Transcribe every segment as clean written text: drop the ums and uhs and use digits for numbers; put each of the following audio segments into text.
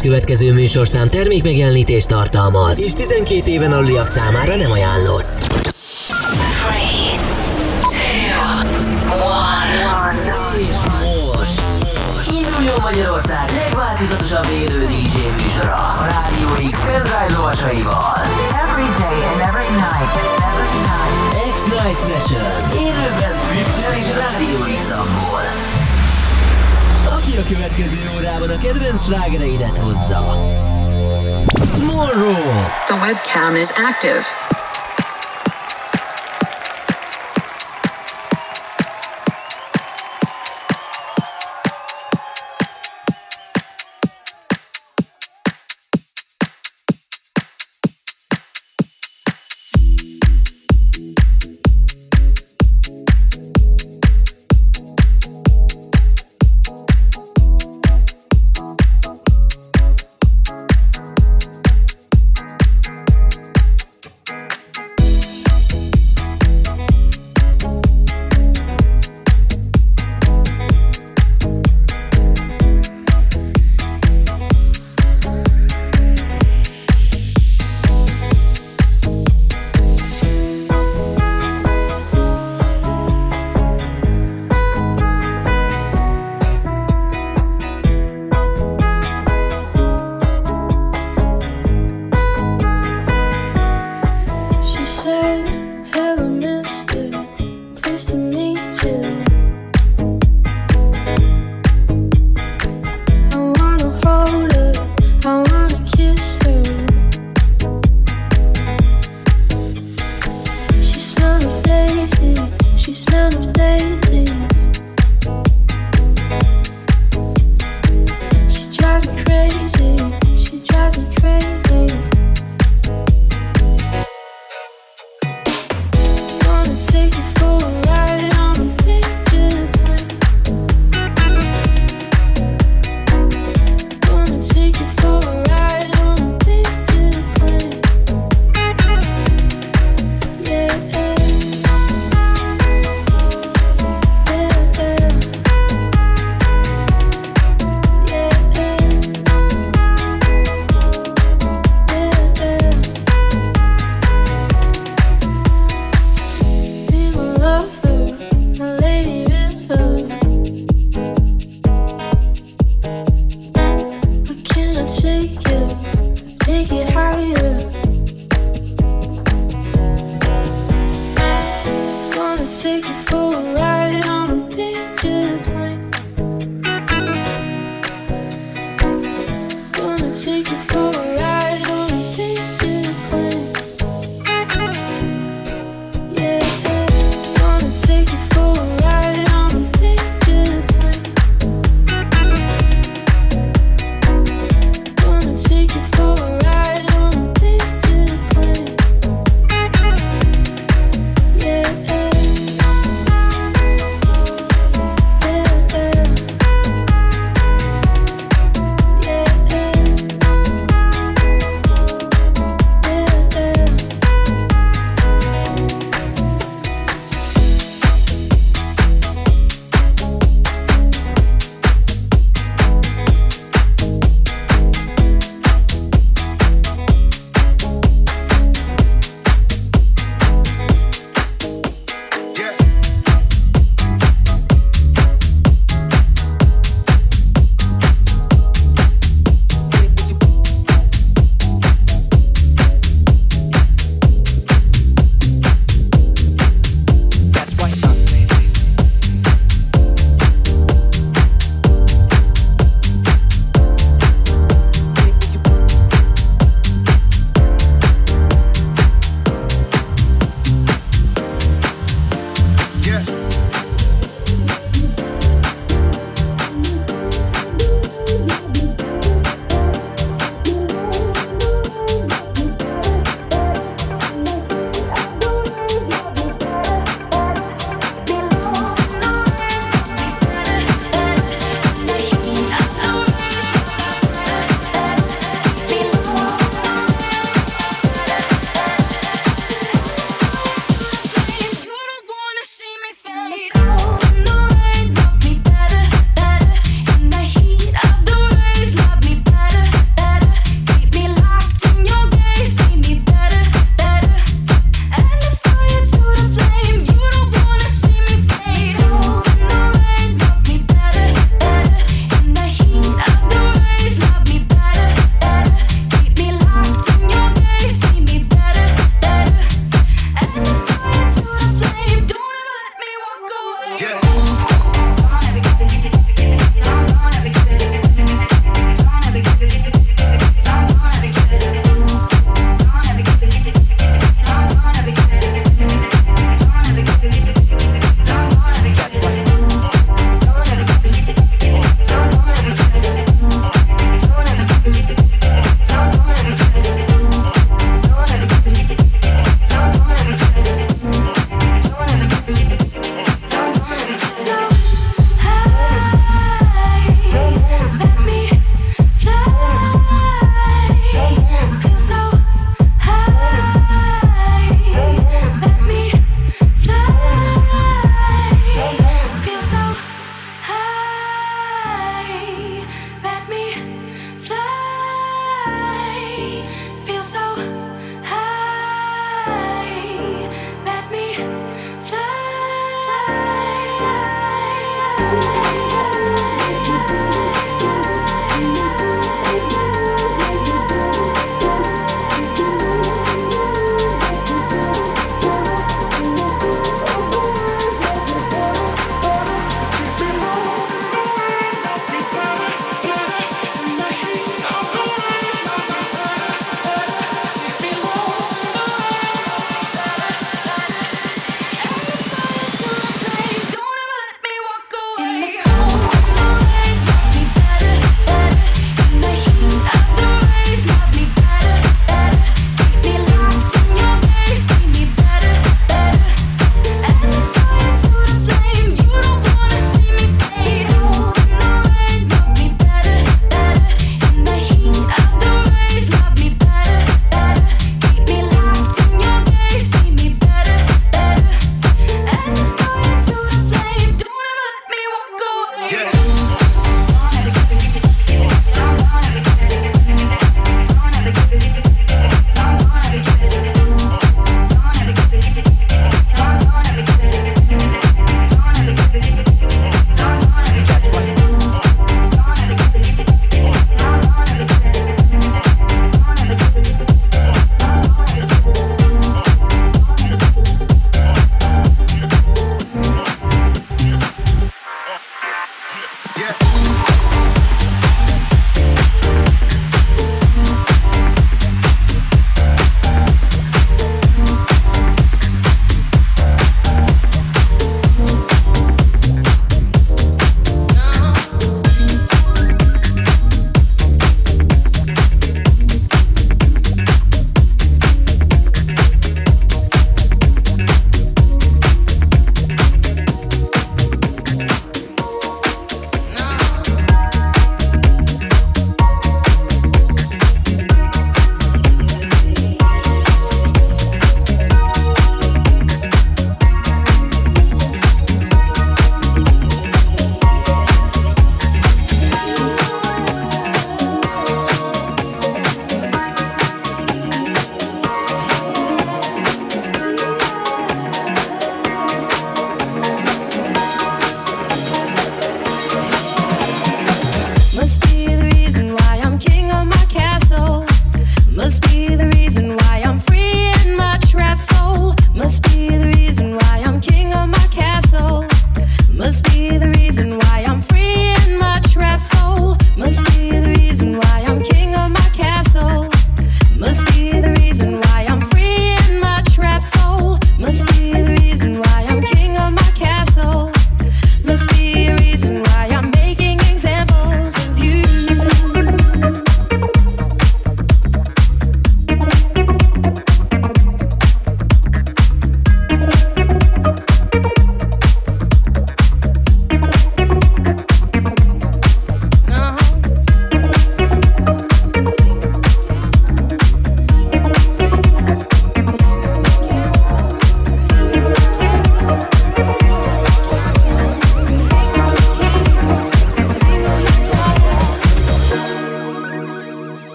következő műsorszám termékmegjelenítést tartalmaz, és 12 éven aluliak számára nem ajánlott. 3, 2, 1. És most induljon Magyarország legváltozatosabb élő DJ műsora a Rádió X pendrive lovasaival. Every day and every night. X-Night Session. Élőben Twitch-en és Rádió X-amból. Aki a következő órában a kedvenc slágereidet hozza. Monroe. The webcam is active.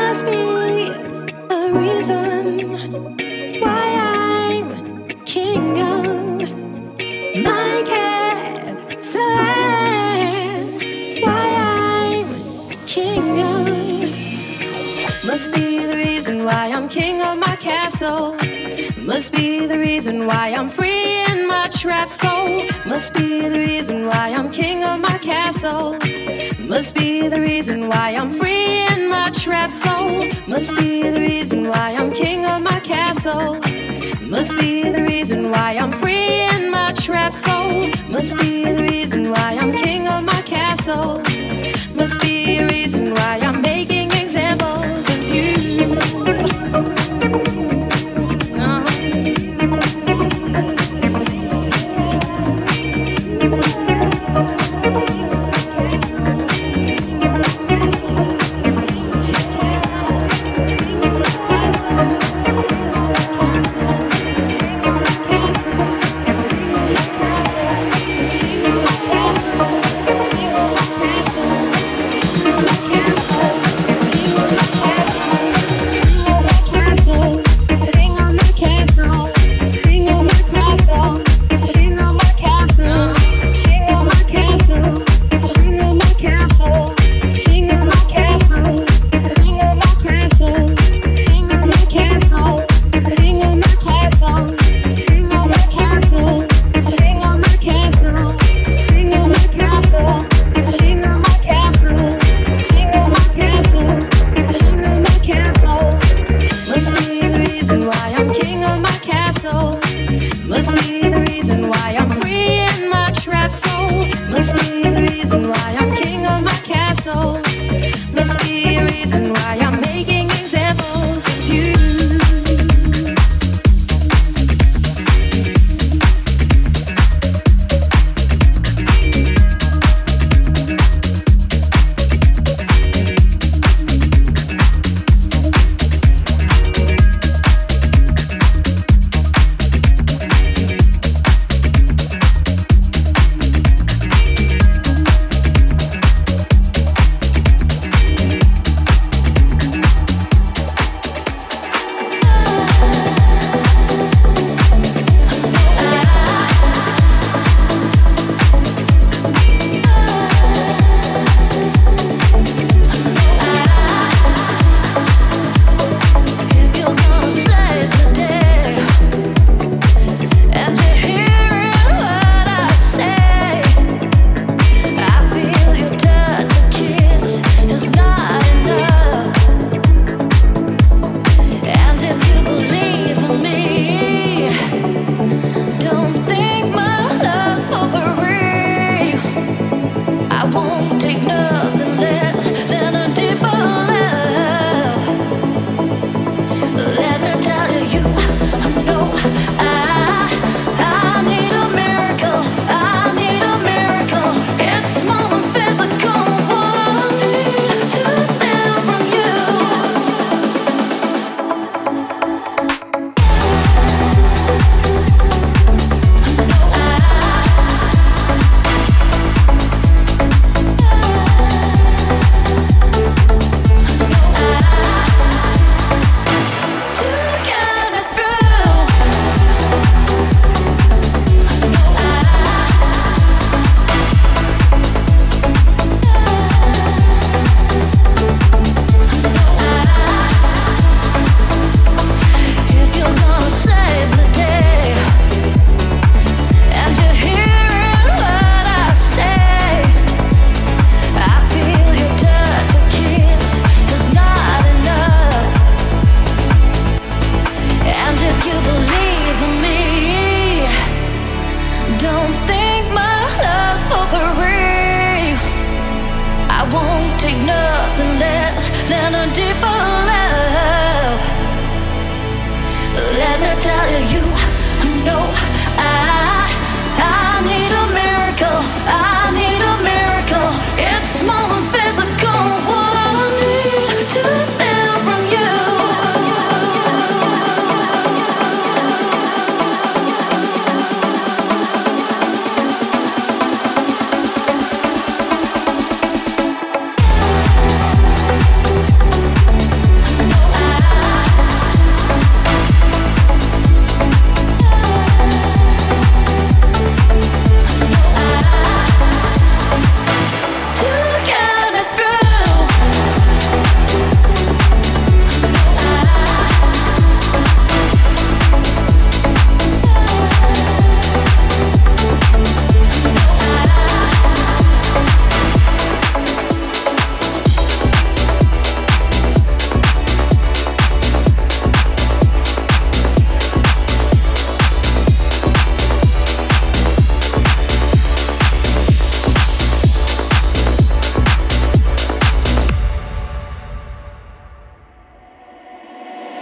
must be the reason why I'm king of my castle. Why I'm king of must be the reason why I'm king of my castle. Must be the reason why I'm free in my trapped soul. Must be the reason why I'm king of my castle. Must be the reason why I'm free in my trapped soul. Must be the reason why I'm king of my castle. Must be the reason why I'm free in my trapped soul. Must be the reason why I'm king of my castle. Must be a reason why I'm making examples of you.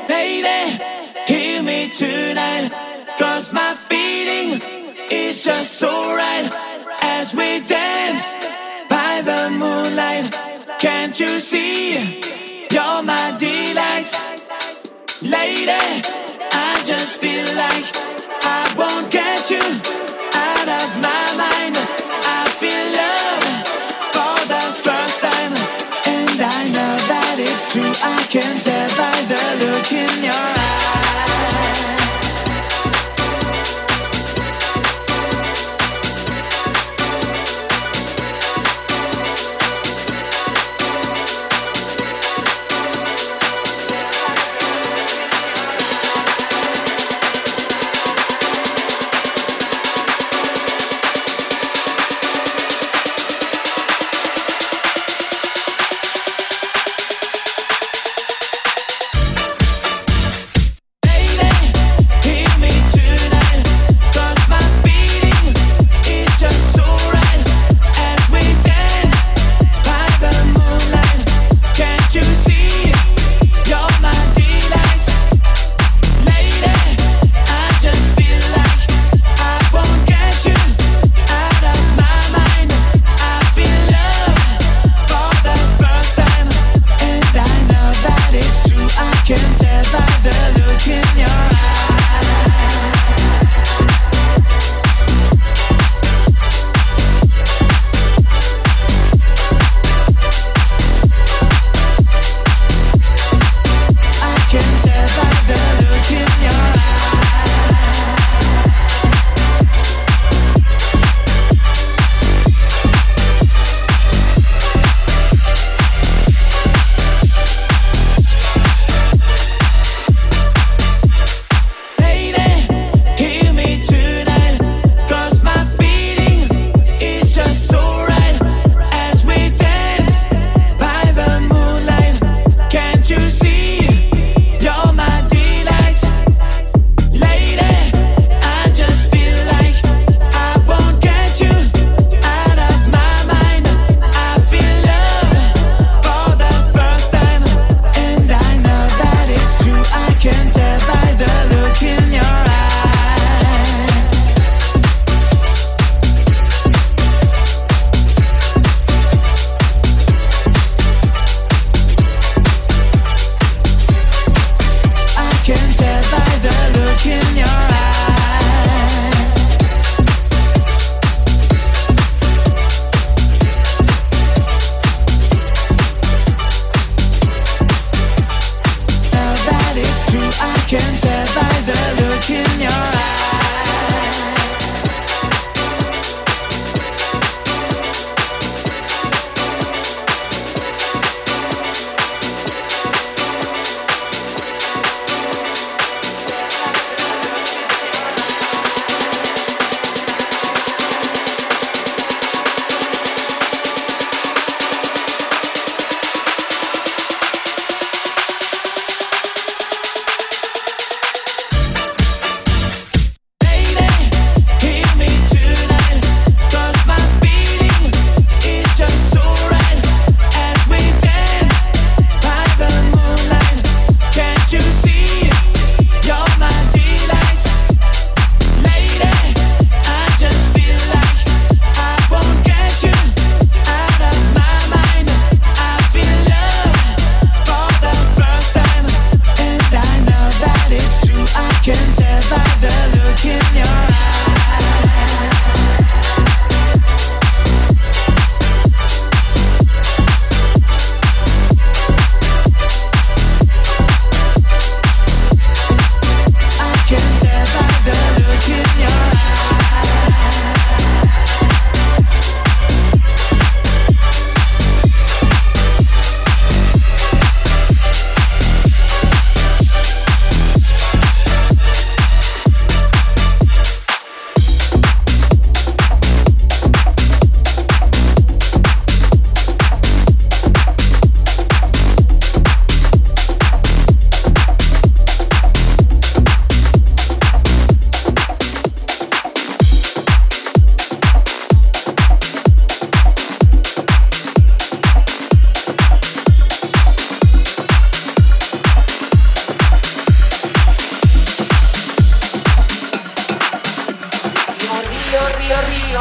Lady, hear me tonight, 'cause my feeling is just so right. As we dance by the moonlight, can't you see? You're my delight. Lady, I just feel like I won't get you out of my mind. I feel love for the first time, and I know that it's true. I can tell by the look in your eyes.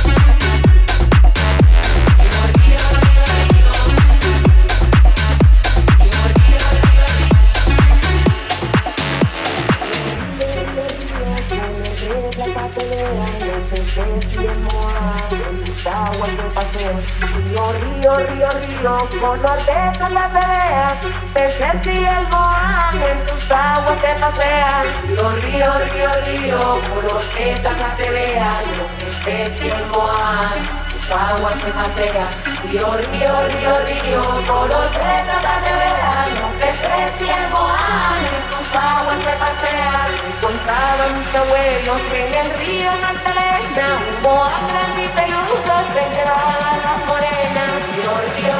Color de calaveras, peces y el moán en tus aguas te pasean. Los ríos, color de calaveras, los peces y el moán, tus aguas te pasean. Río, color de calaveras, los peces y el moán en tus aguas te pasean. Contaban mis abuelos que en el río Magdalena un moán grande y peludo se llevaba a las morenas. Río,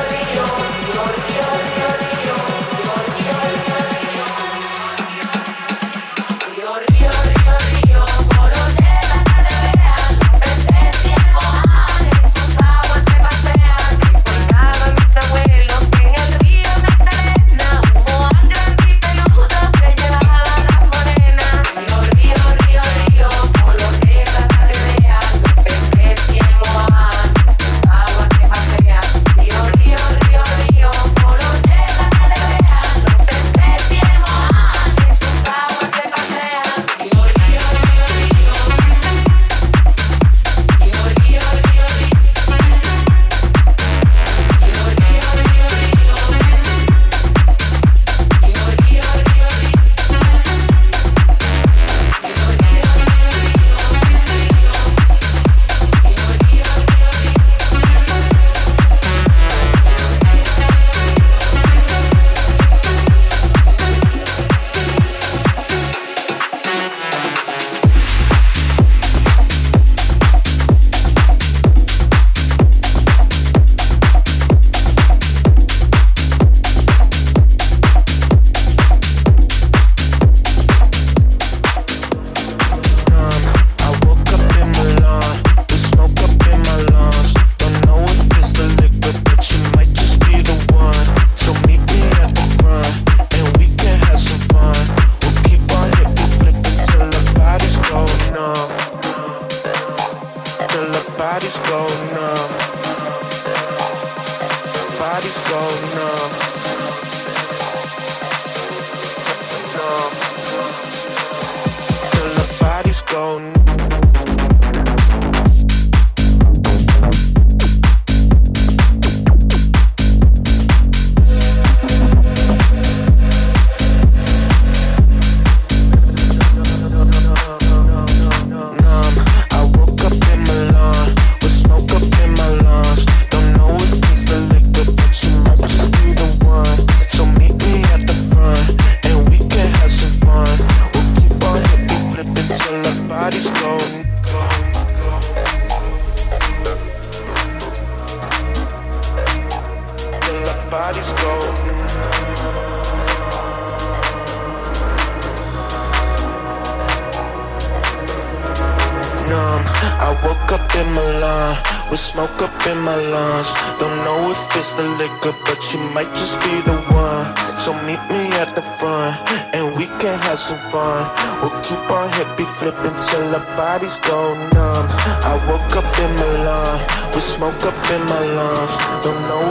flipping till our bodies go numb. I woke up in Milan with smoke up in my lungs. Don't know if it's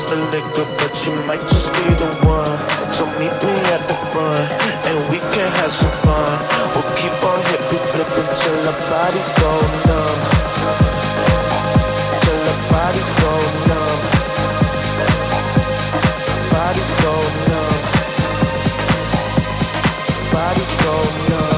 the liquor, but you might just be the one. So meet me at the front, and we can have some fun. We'll keep on hippie flipping till our bodies go numb. Till our bodies go numb. Bodies go numb. Bodies go numb.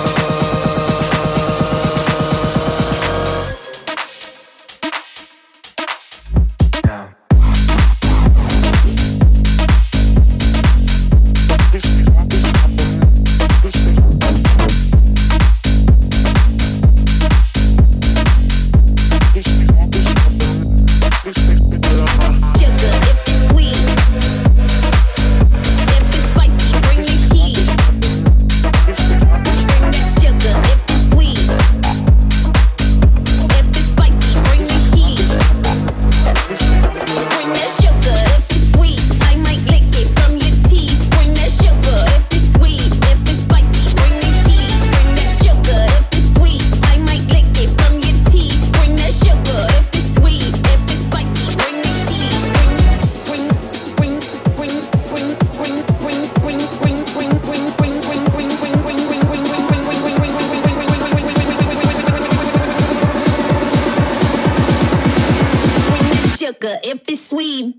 If it's sweet,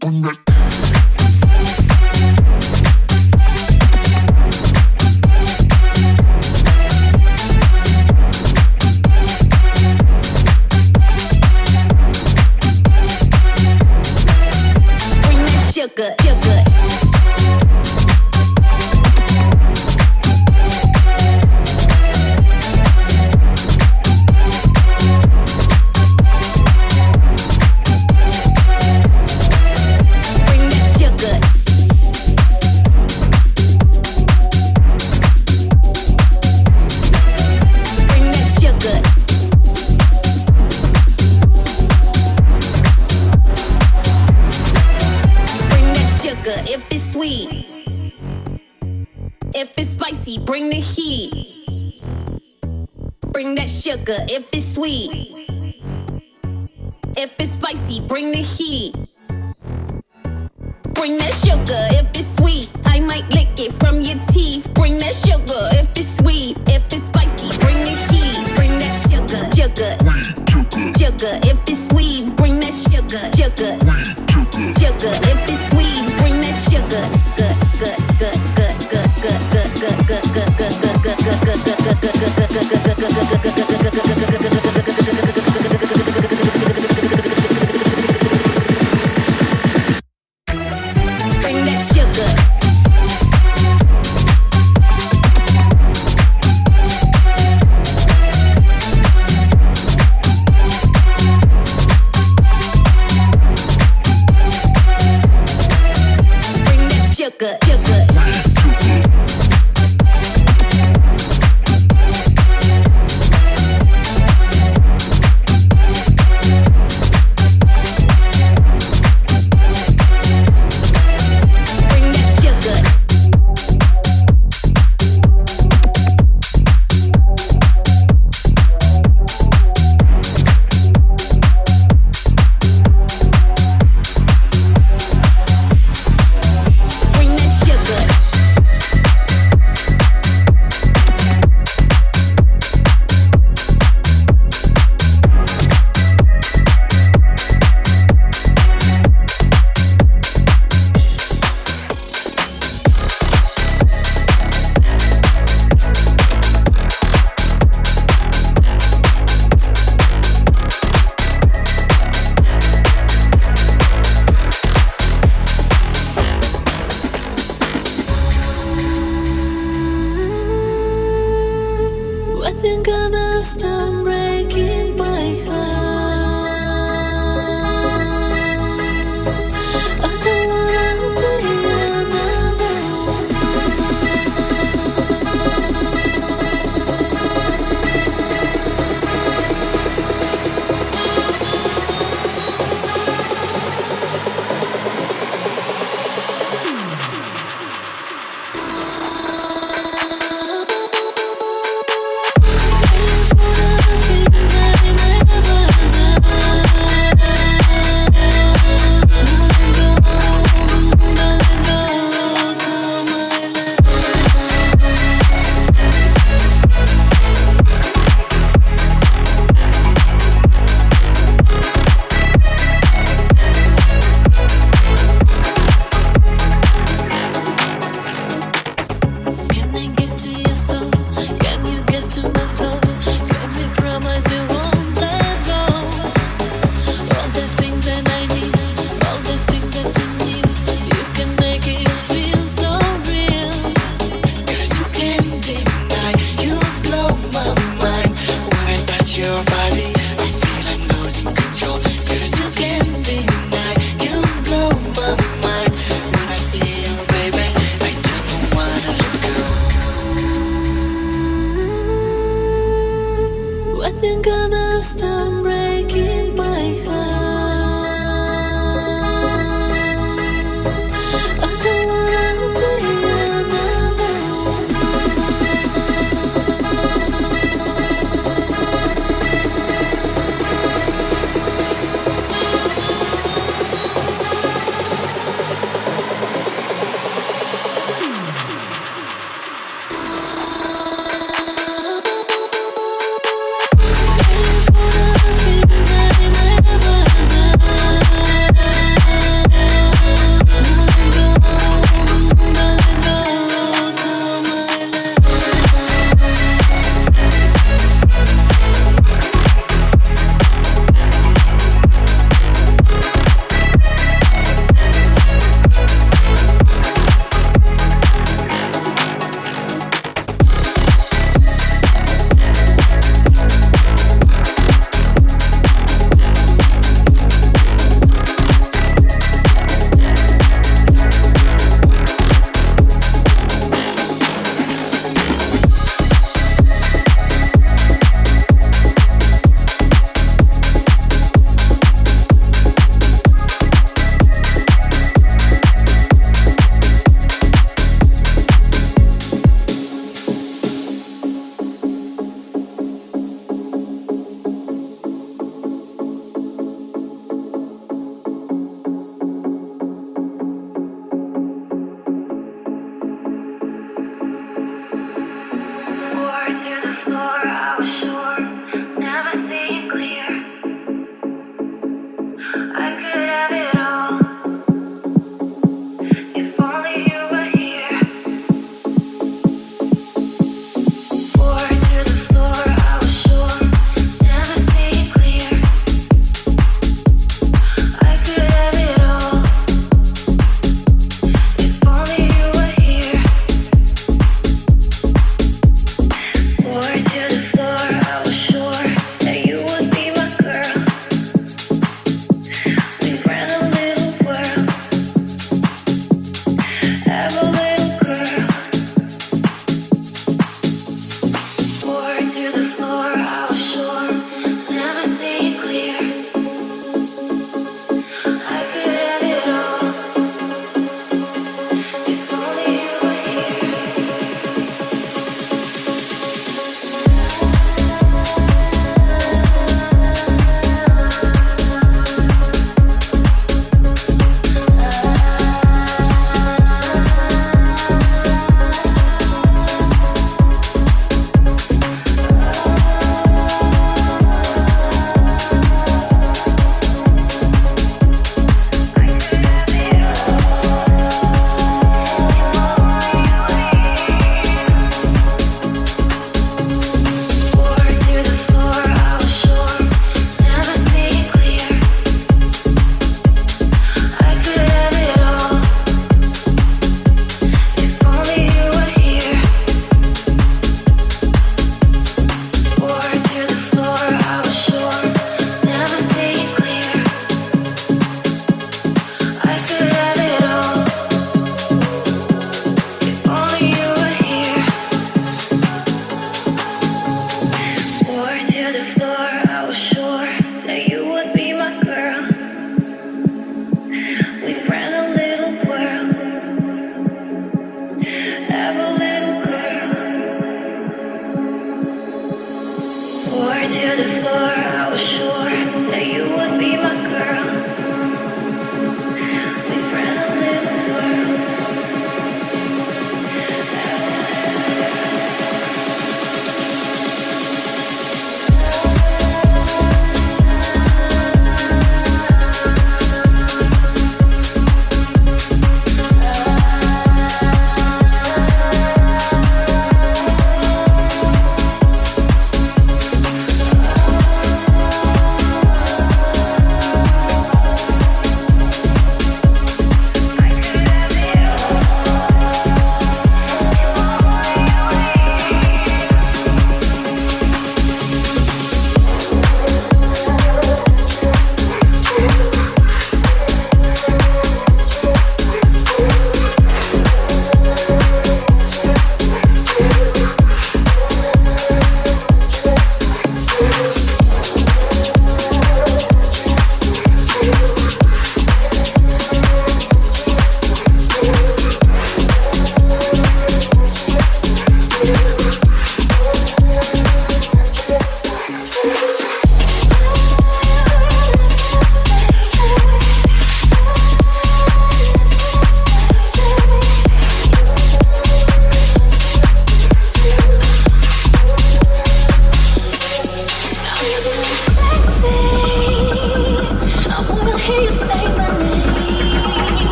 sugar, sugar. If it's sweet, if it's spicy, bring the heat. Bring that sugar. If it's sweet, if it's spicy, bring the heat. Bring that sugar. If it's sweet, I might lick it from your teeth. Bring that sugar. If it's sweet, if it's spicy, bring the heat. Bring that sugar, sugar, sugar. If it's sweet, bring that sugar, sugar, sugar. If it's sweet, bring that sugar. Good, good, good, good, good, good, good, good, good, good, good, good, bring that sugar. Sugar, sugar.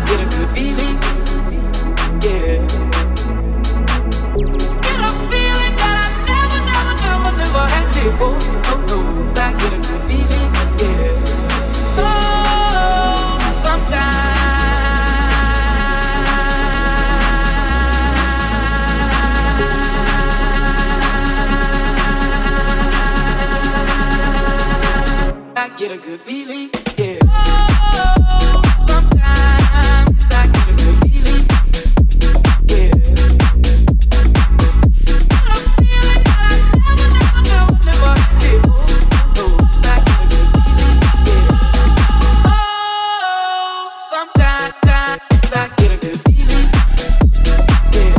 get a good feeling, yeah. Get a feeling that I never had before. Oh no, I get a good feeling, yeah. Oh, sometimes I get a good feeling, yeah. Oh, sometimes I get a good feeling, yeah. Got a feeling that I never had before. Oh, I get a good feeling, yeah. Oh, sometimes I get a good feeling, yeah.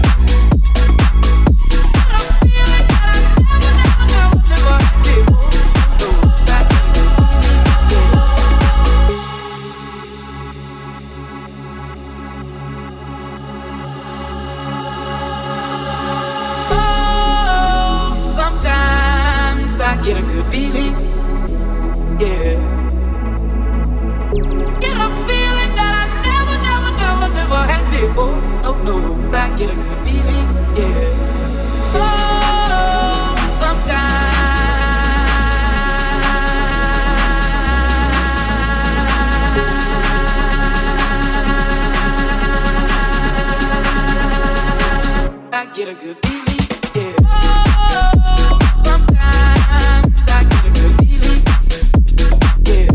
Got a feeling that I never had before. Oh, I get a good sometimes I get a good feeling, yeah. Get a feeling that I never had before. No, I get a good feeling, yeah. Oh, sometimes I get a good feeling, yeah. Oh, sometimes I get a good feeling, yeah.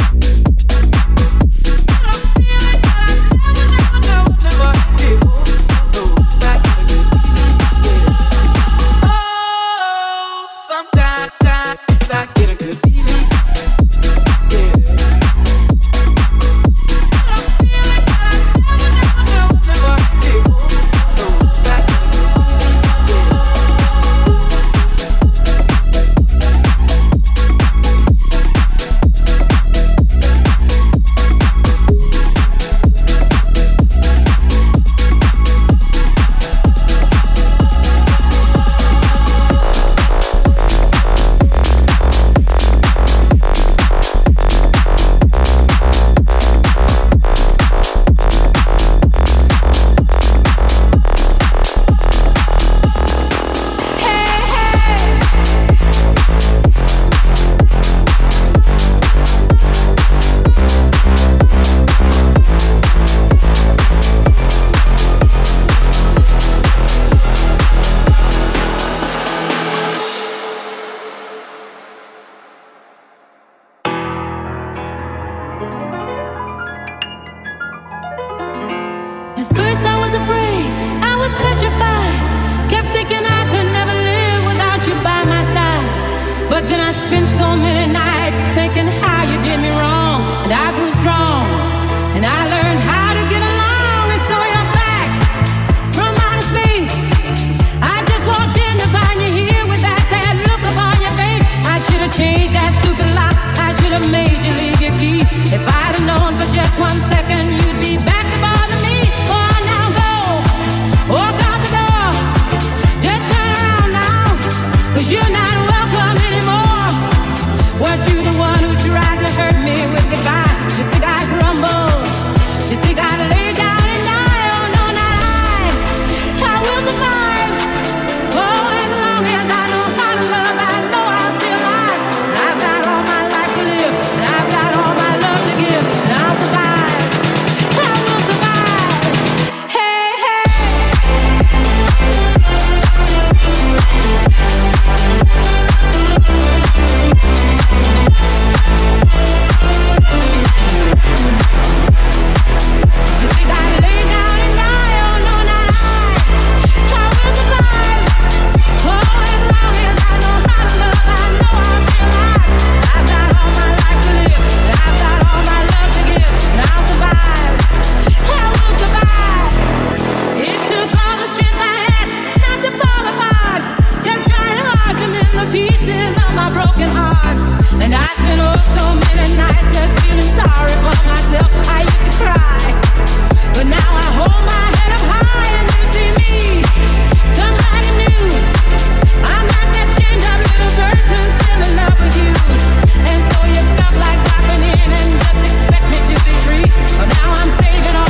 Got a feeling that I never had before. No, I get a good feeling, yeah. Oh, sometimes I get a good feeling, yeah. Got a feeling that I never had before. No, I get a good At first I was afraid, I was petrified. Kept thinking I could never live without you by my side. But then I spent so many nights thinking how you did me wrong. And I grew strong, and I learned how to get along. And so you're back from outer space. I just walked in to find you here with that sad look upon your face. I should have changed that stupid lock. I should have made you leave your key. If I'd have known for just 1 second you'd be back to bother me. Walk out the door, just turn around now, 'cause you're not welcome anymore. Was you the one who tried to hurt me with goodbye? You think I grumble? You think I'd lay down and die? Oh no, not I will survive. Oh, as long as I know how to love, I know I'll stay alive. And I've got all my life to live, and I've got all my love to give, and I'll survive. I will survive. Hey, hey. You think I'd lay down and die? Oh no, not I will survive. Oh, as long as I know how to love, I know I'll stay alive. I've got all my life to live, and I've got all my love to give, and I'll survive. I will survive. It took all the strength I had not to fall apart. Kept trying hard to mend the pieces of my broken heart. And I spent so many nights just feeling sorry for myself. I used to cry, but now I hold my head up high and you see me, somebody new. I'm not that chained up little person still in love with you. And so you felt like dropping in and just expect me to be free. Well, now I'm saving all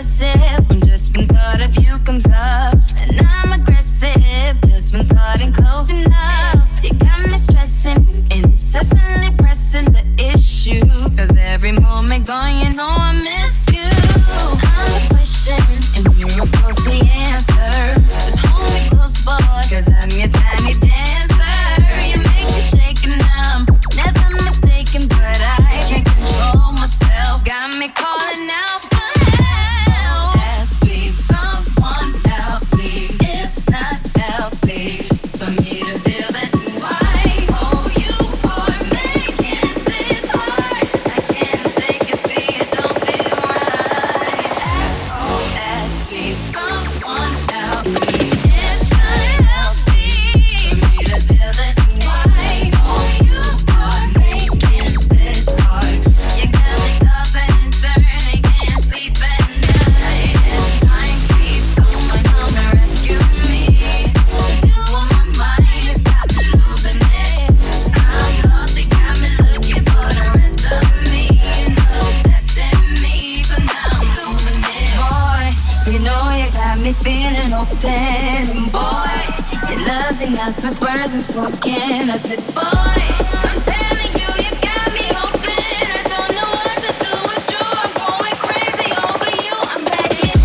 possessive when just one thought of you comes up. And I'm aggressive just when thought ain't close enough. You got me stressing, incessantly pressing the issue. Cause every moment gone, you know I miss you. I'm the question, and you're of course the answer. Just hold me close, boy, cause I'm your tiny dancer. You make me shake and I'm never mistaken, but I can't control myself. Got me calling out for help. Yes, please, someone help me. It's not healthy for me to feel this way. Oh, you are making this hard. I can't take it, see it don't feel right. SOS, please, someone help me. It's not healthy for me to feel this way. Oh, you are making this hard. You got me tossing and turning, can't sleep at night. It's time, please, someone come and rescue me. 'Cause you on my mind, it's got me losing it. I'm lost, you got me looking for the rest of me. You know it's testing me, so now I'm losing it. Boy, you know you got me feeling open. Boy, your love's enough with words unspoken. I said, boy, I'm telling you, you got me open. I don't know what to do, it's true. I'm going crazy over you. I'm begging.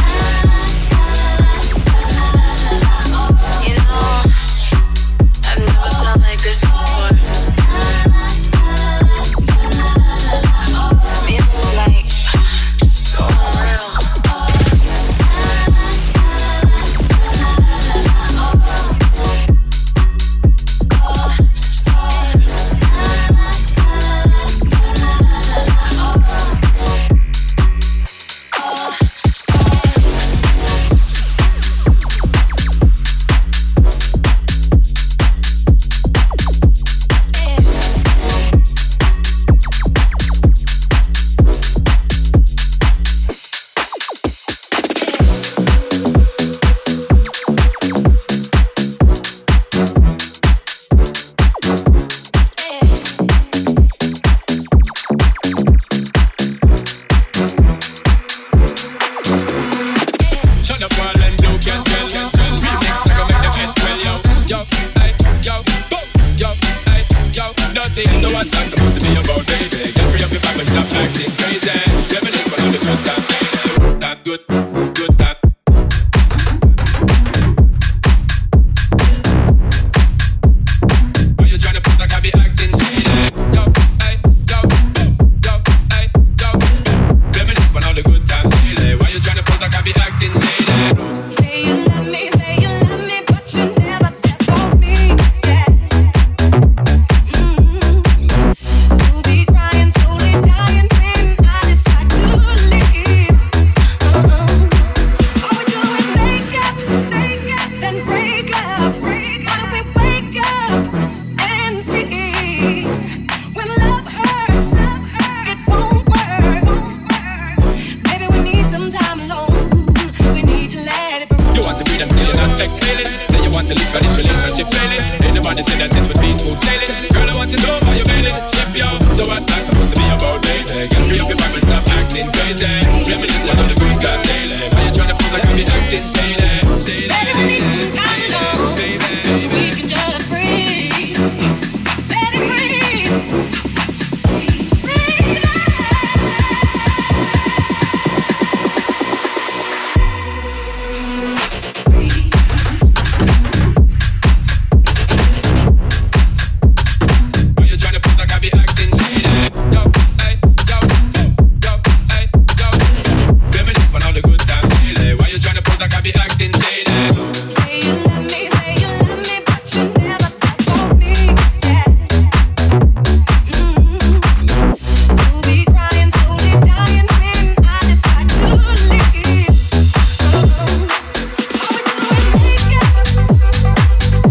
You know, I've never felt like this before. This feeling's like so real. Shut up while and do get well. Remix like I make them heads well, yo. Yo, hey, yo, boom, yo, hey, yo. Nothing, so what's that supposed to be about, baby? Get free up your back and stop acting crazy. Reminisce for all the good times, baby. That good, good that. Why you tryna put like I be acting shady? Yo, hey, yo, boom, yo, hey, yo. Reminisce for all the good times, baby. Why you tryna put like I be acting shady? Say you love me, but you never there for me. Yeah. You'll be crying, slowly dying when I decide to leave. All we do is make up, then break up. Why don't we wake up and see? When love hurts, it won't work. Maybe we need some time alone. We need to let it burn. You want to breathe and still you're not exhaling. Say you want to live for this relationship failing. Ain't nobody say that it would be smooth sailing. Girl, I want to know why you're bailing. Ship yo. So what's that supposed to be about, baby? Get free up your back and stop acting crazy. Reminisce one of the good times daily. Why you tryna pose like I be acting shady? Baby, we need some time alone, so we can just breathe. Let it breathe. Breathe out. Why you tryna pose like I be acting shady? Yo, hey, yo, boom, yo, hey, yo. Reminisce for all the good times daily. Why you tryna pose like I be acting shady? Say you love me, but you never there for me. Yeah. You'll be crying, slowly dying when I decide to leave. All we do is make up.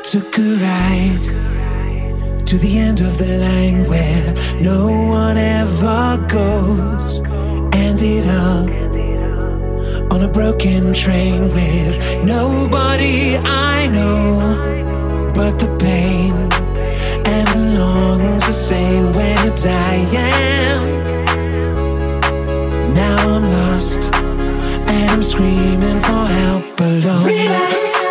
Took a ride to the end of the line where no one ever goes. Ended up on a broken train with nobody I know. But the pain and the longing's the same when you're dying. Now I'm lost and I'm screaming for help alone. Relax.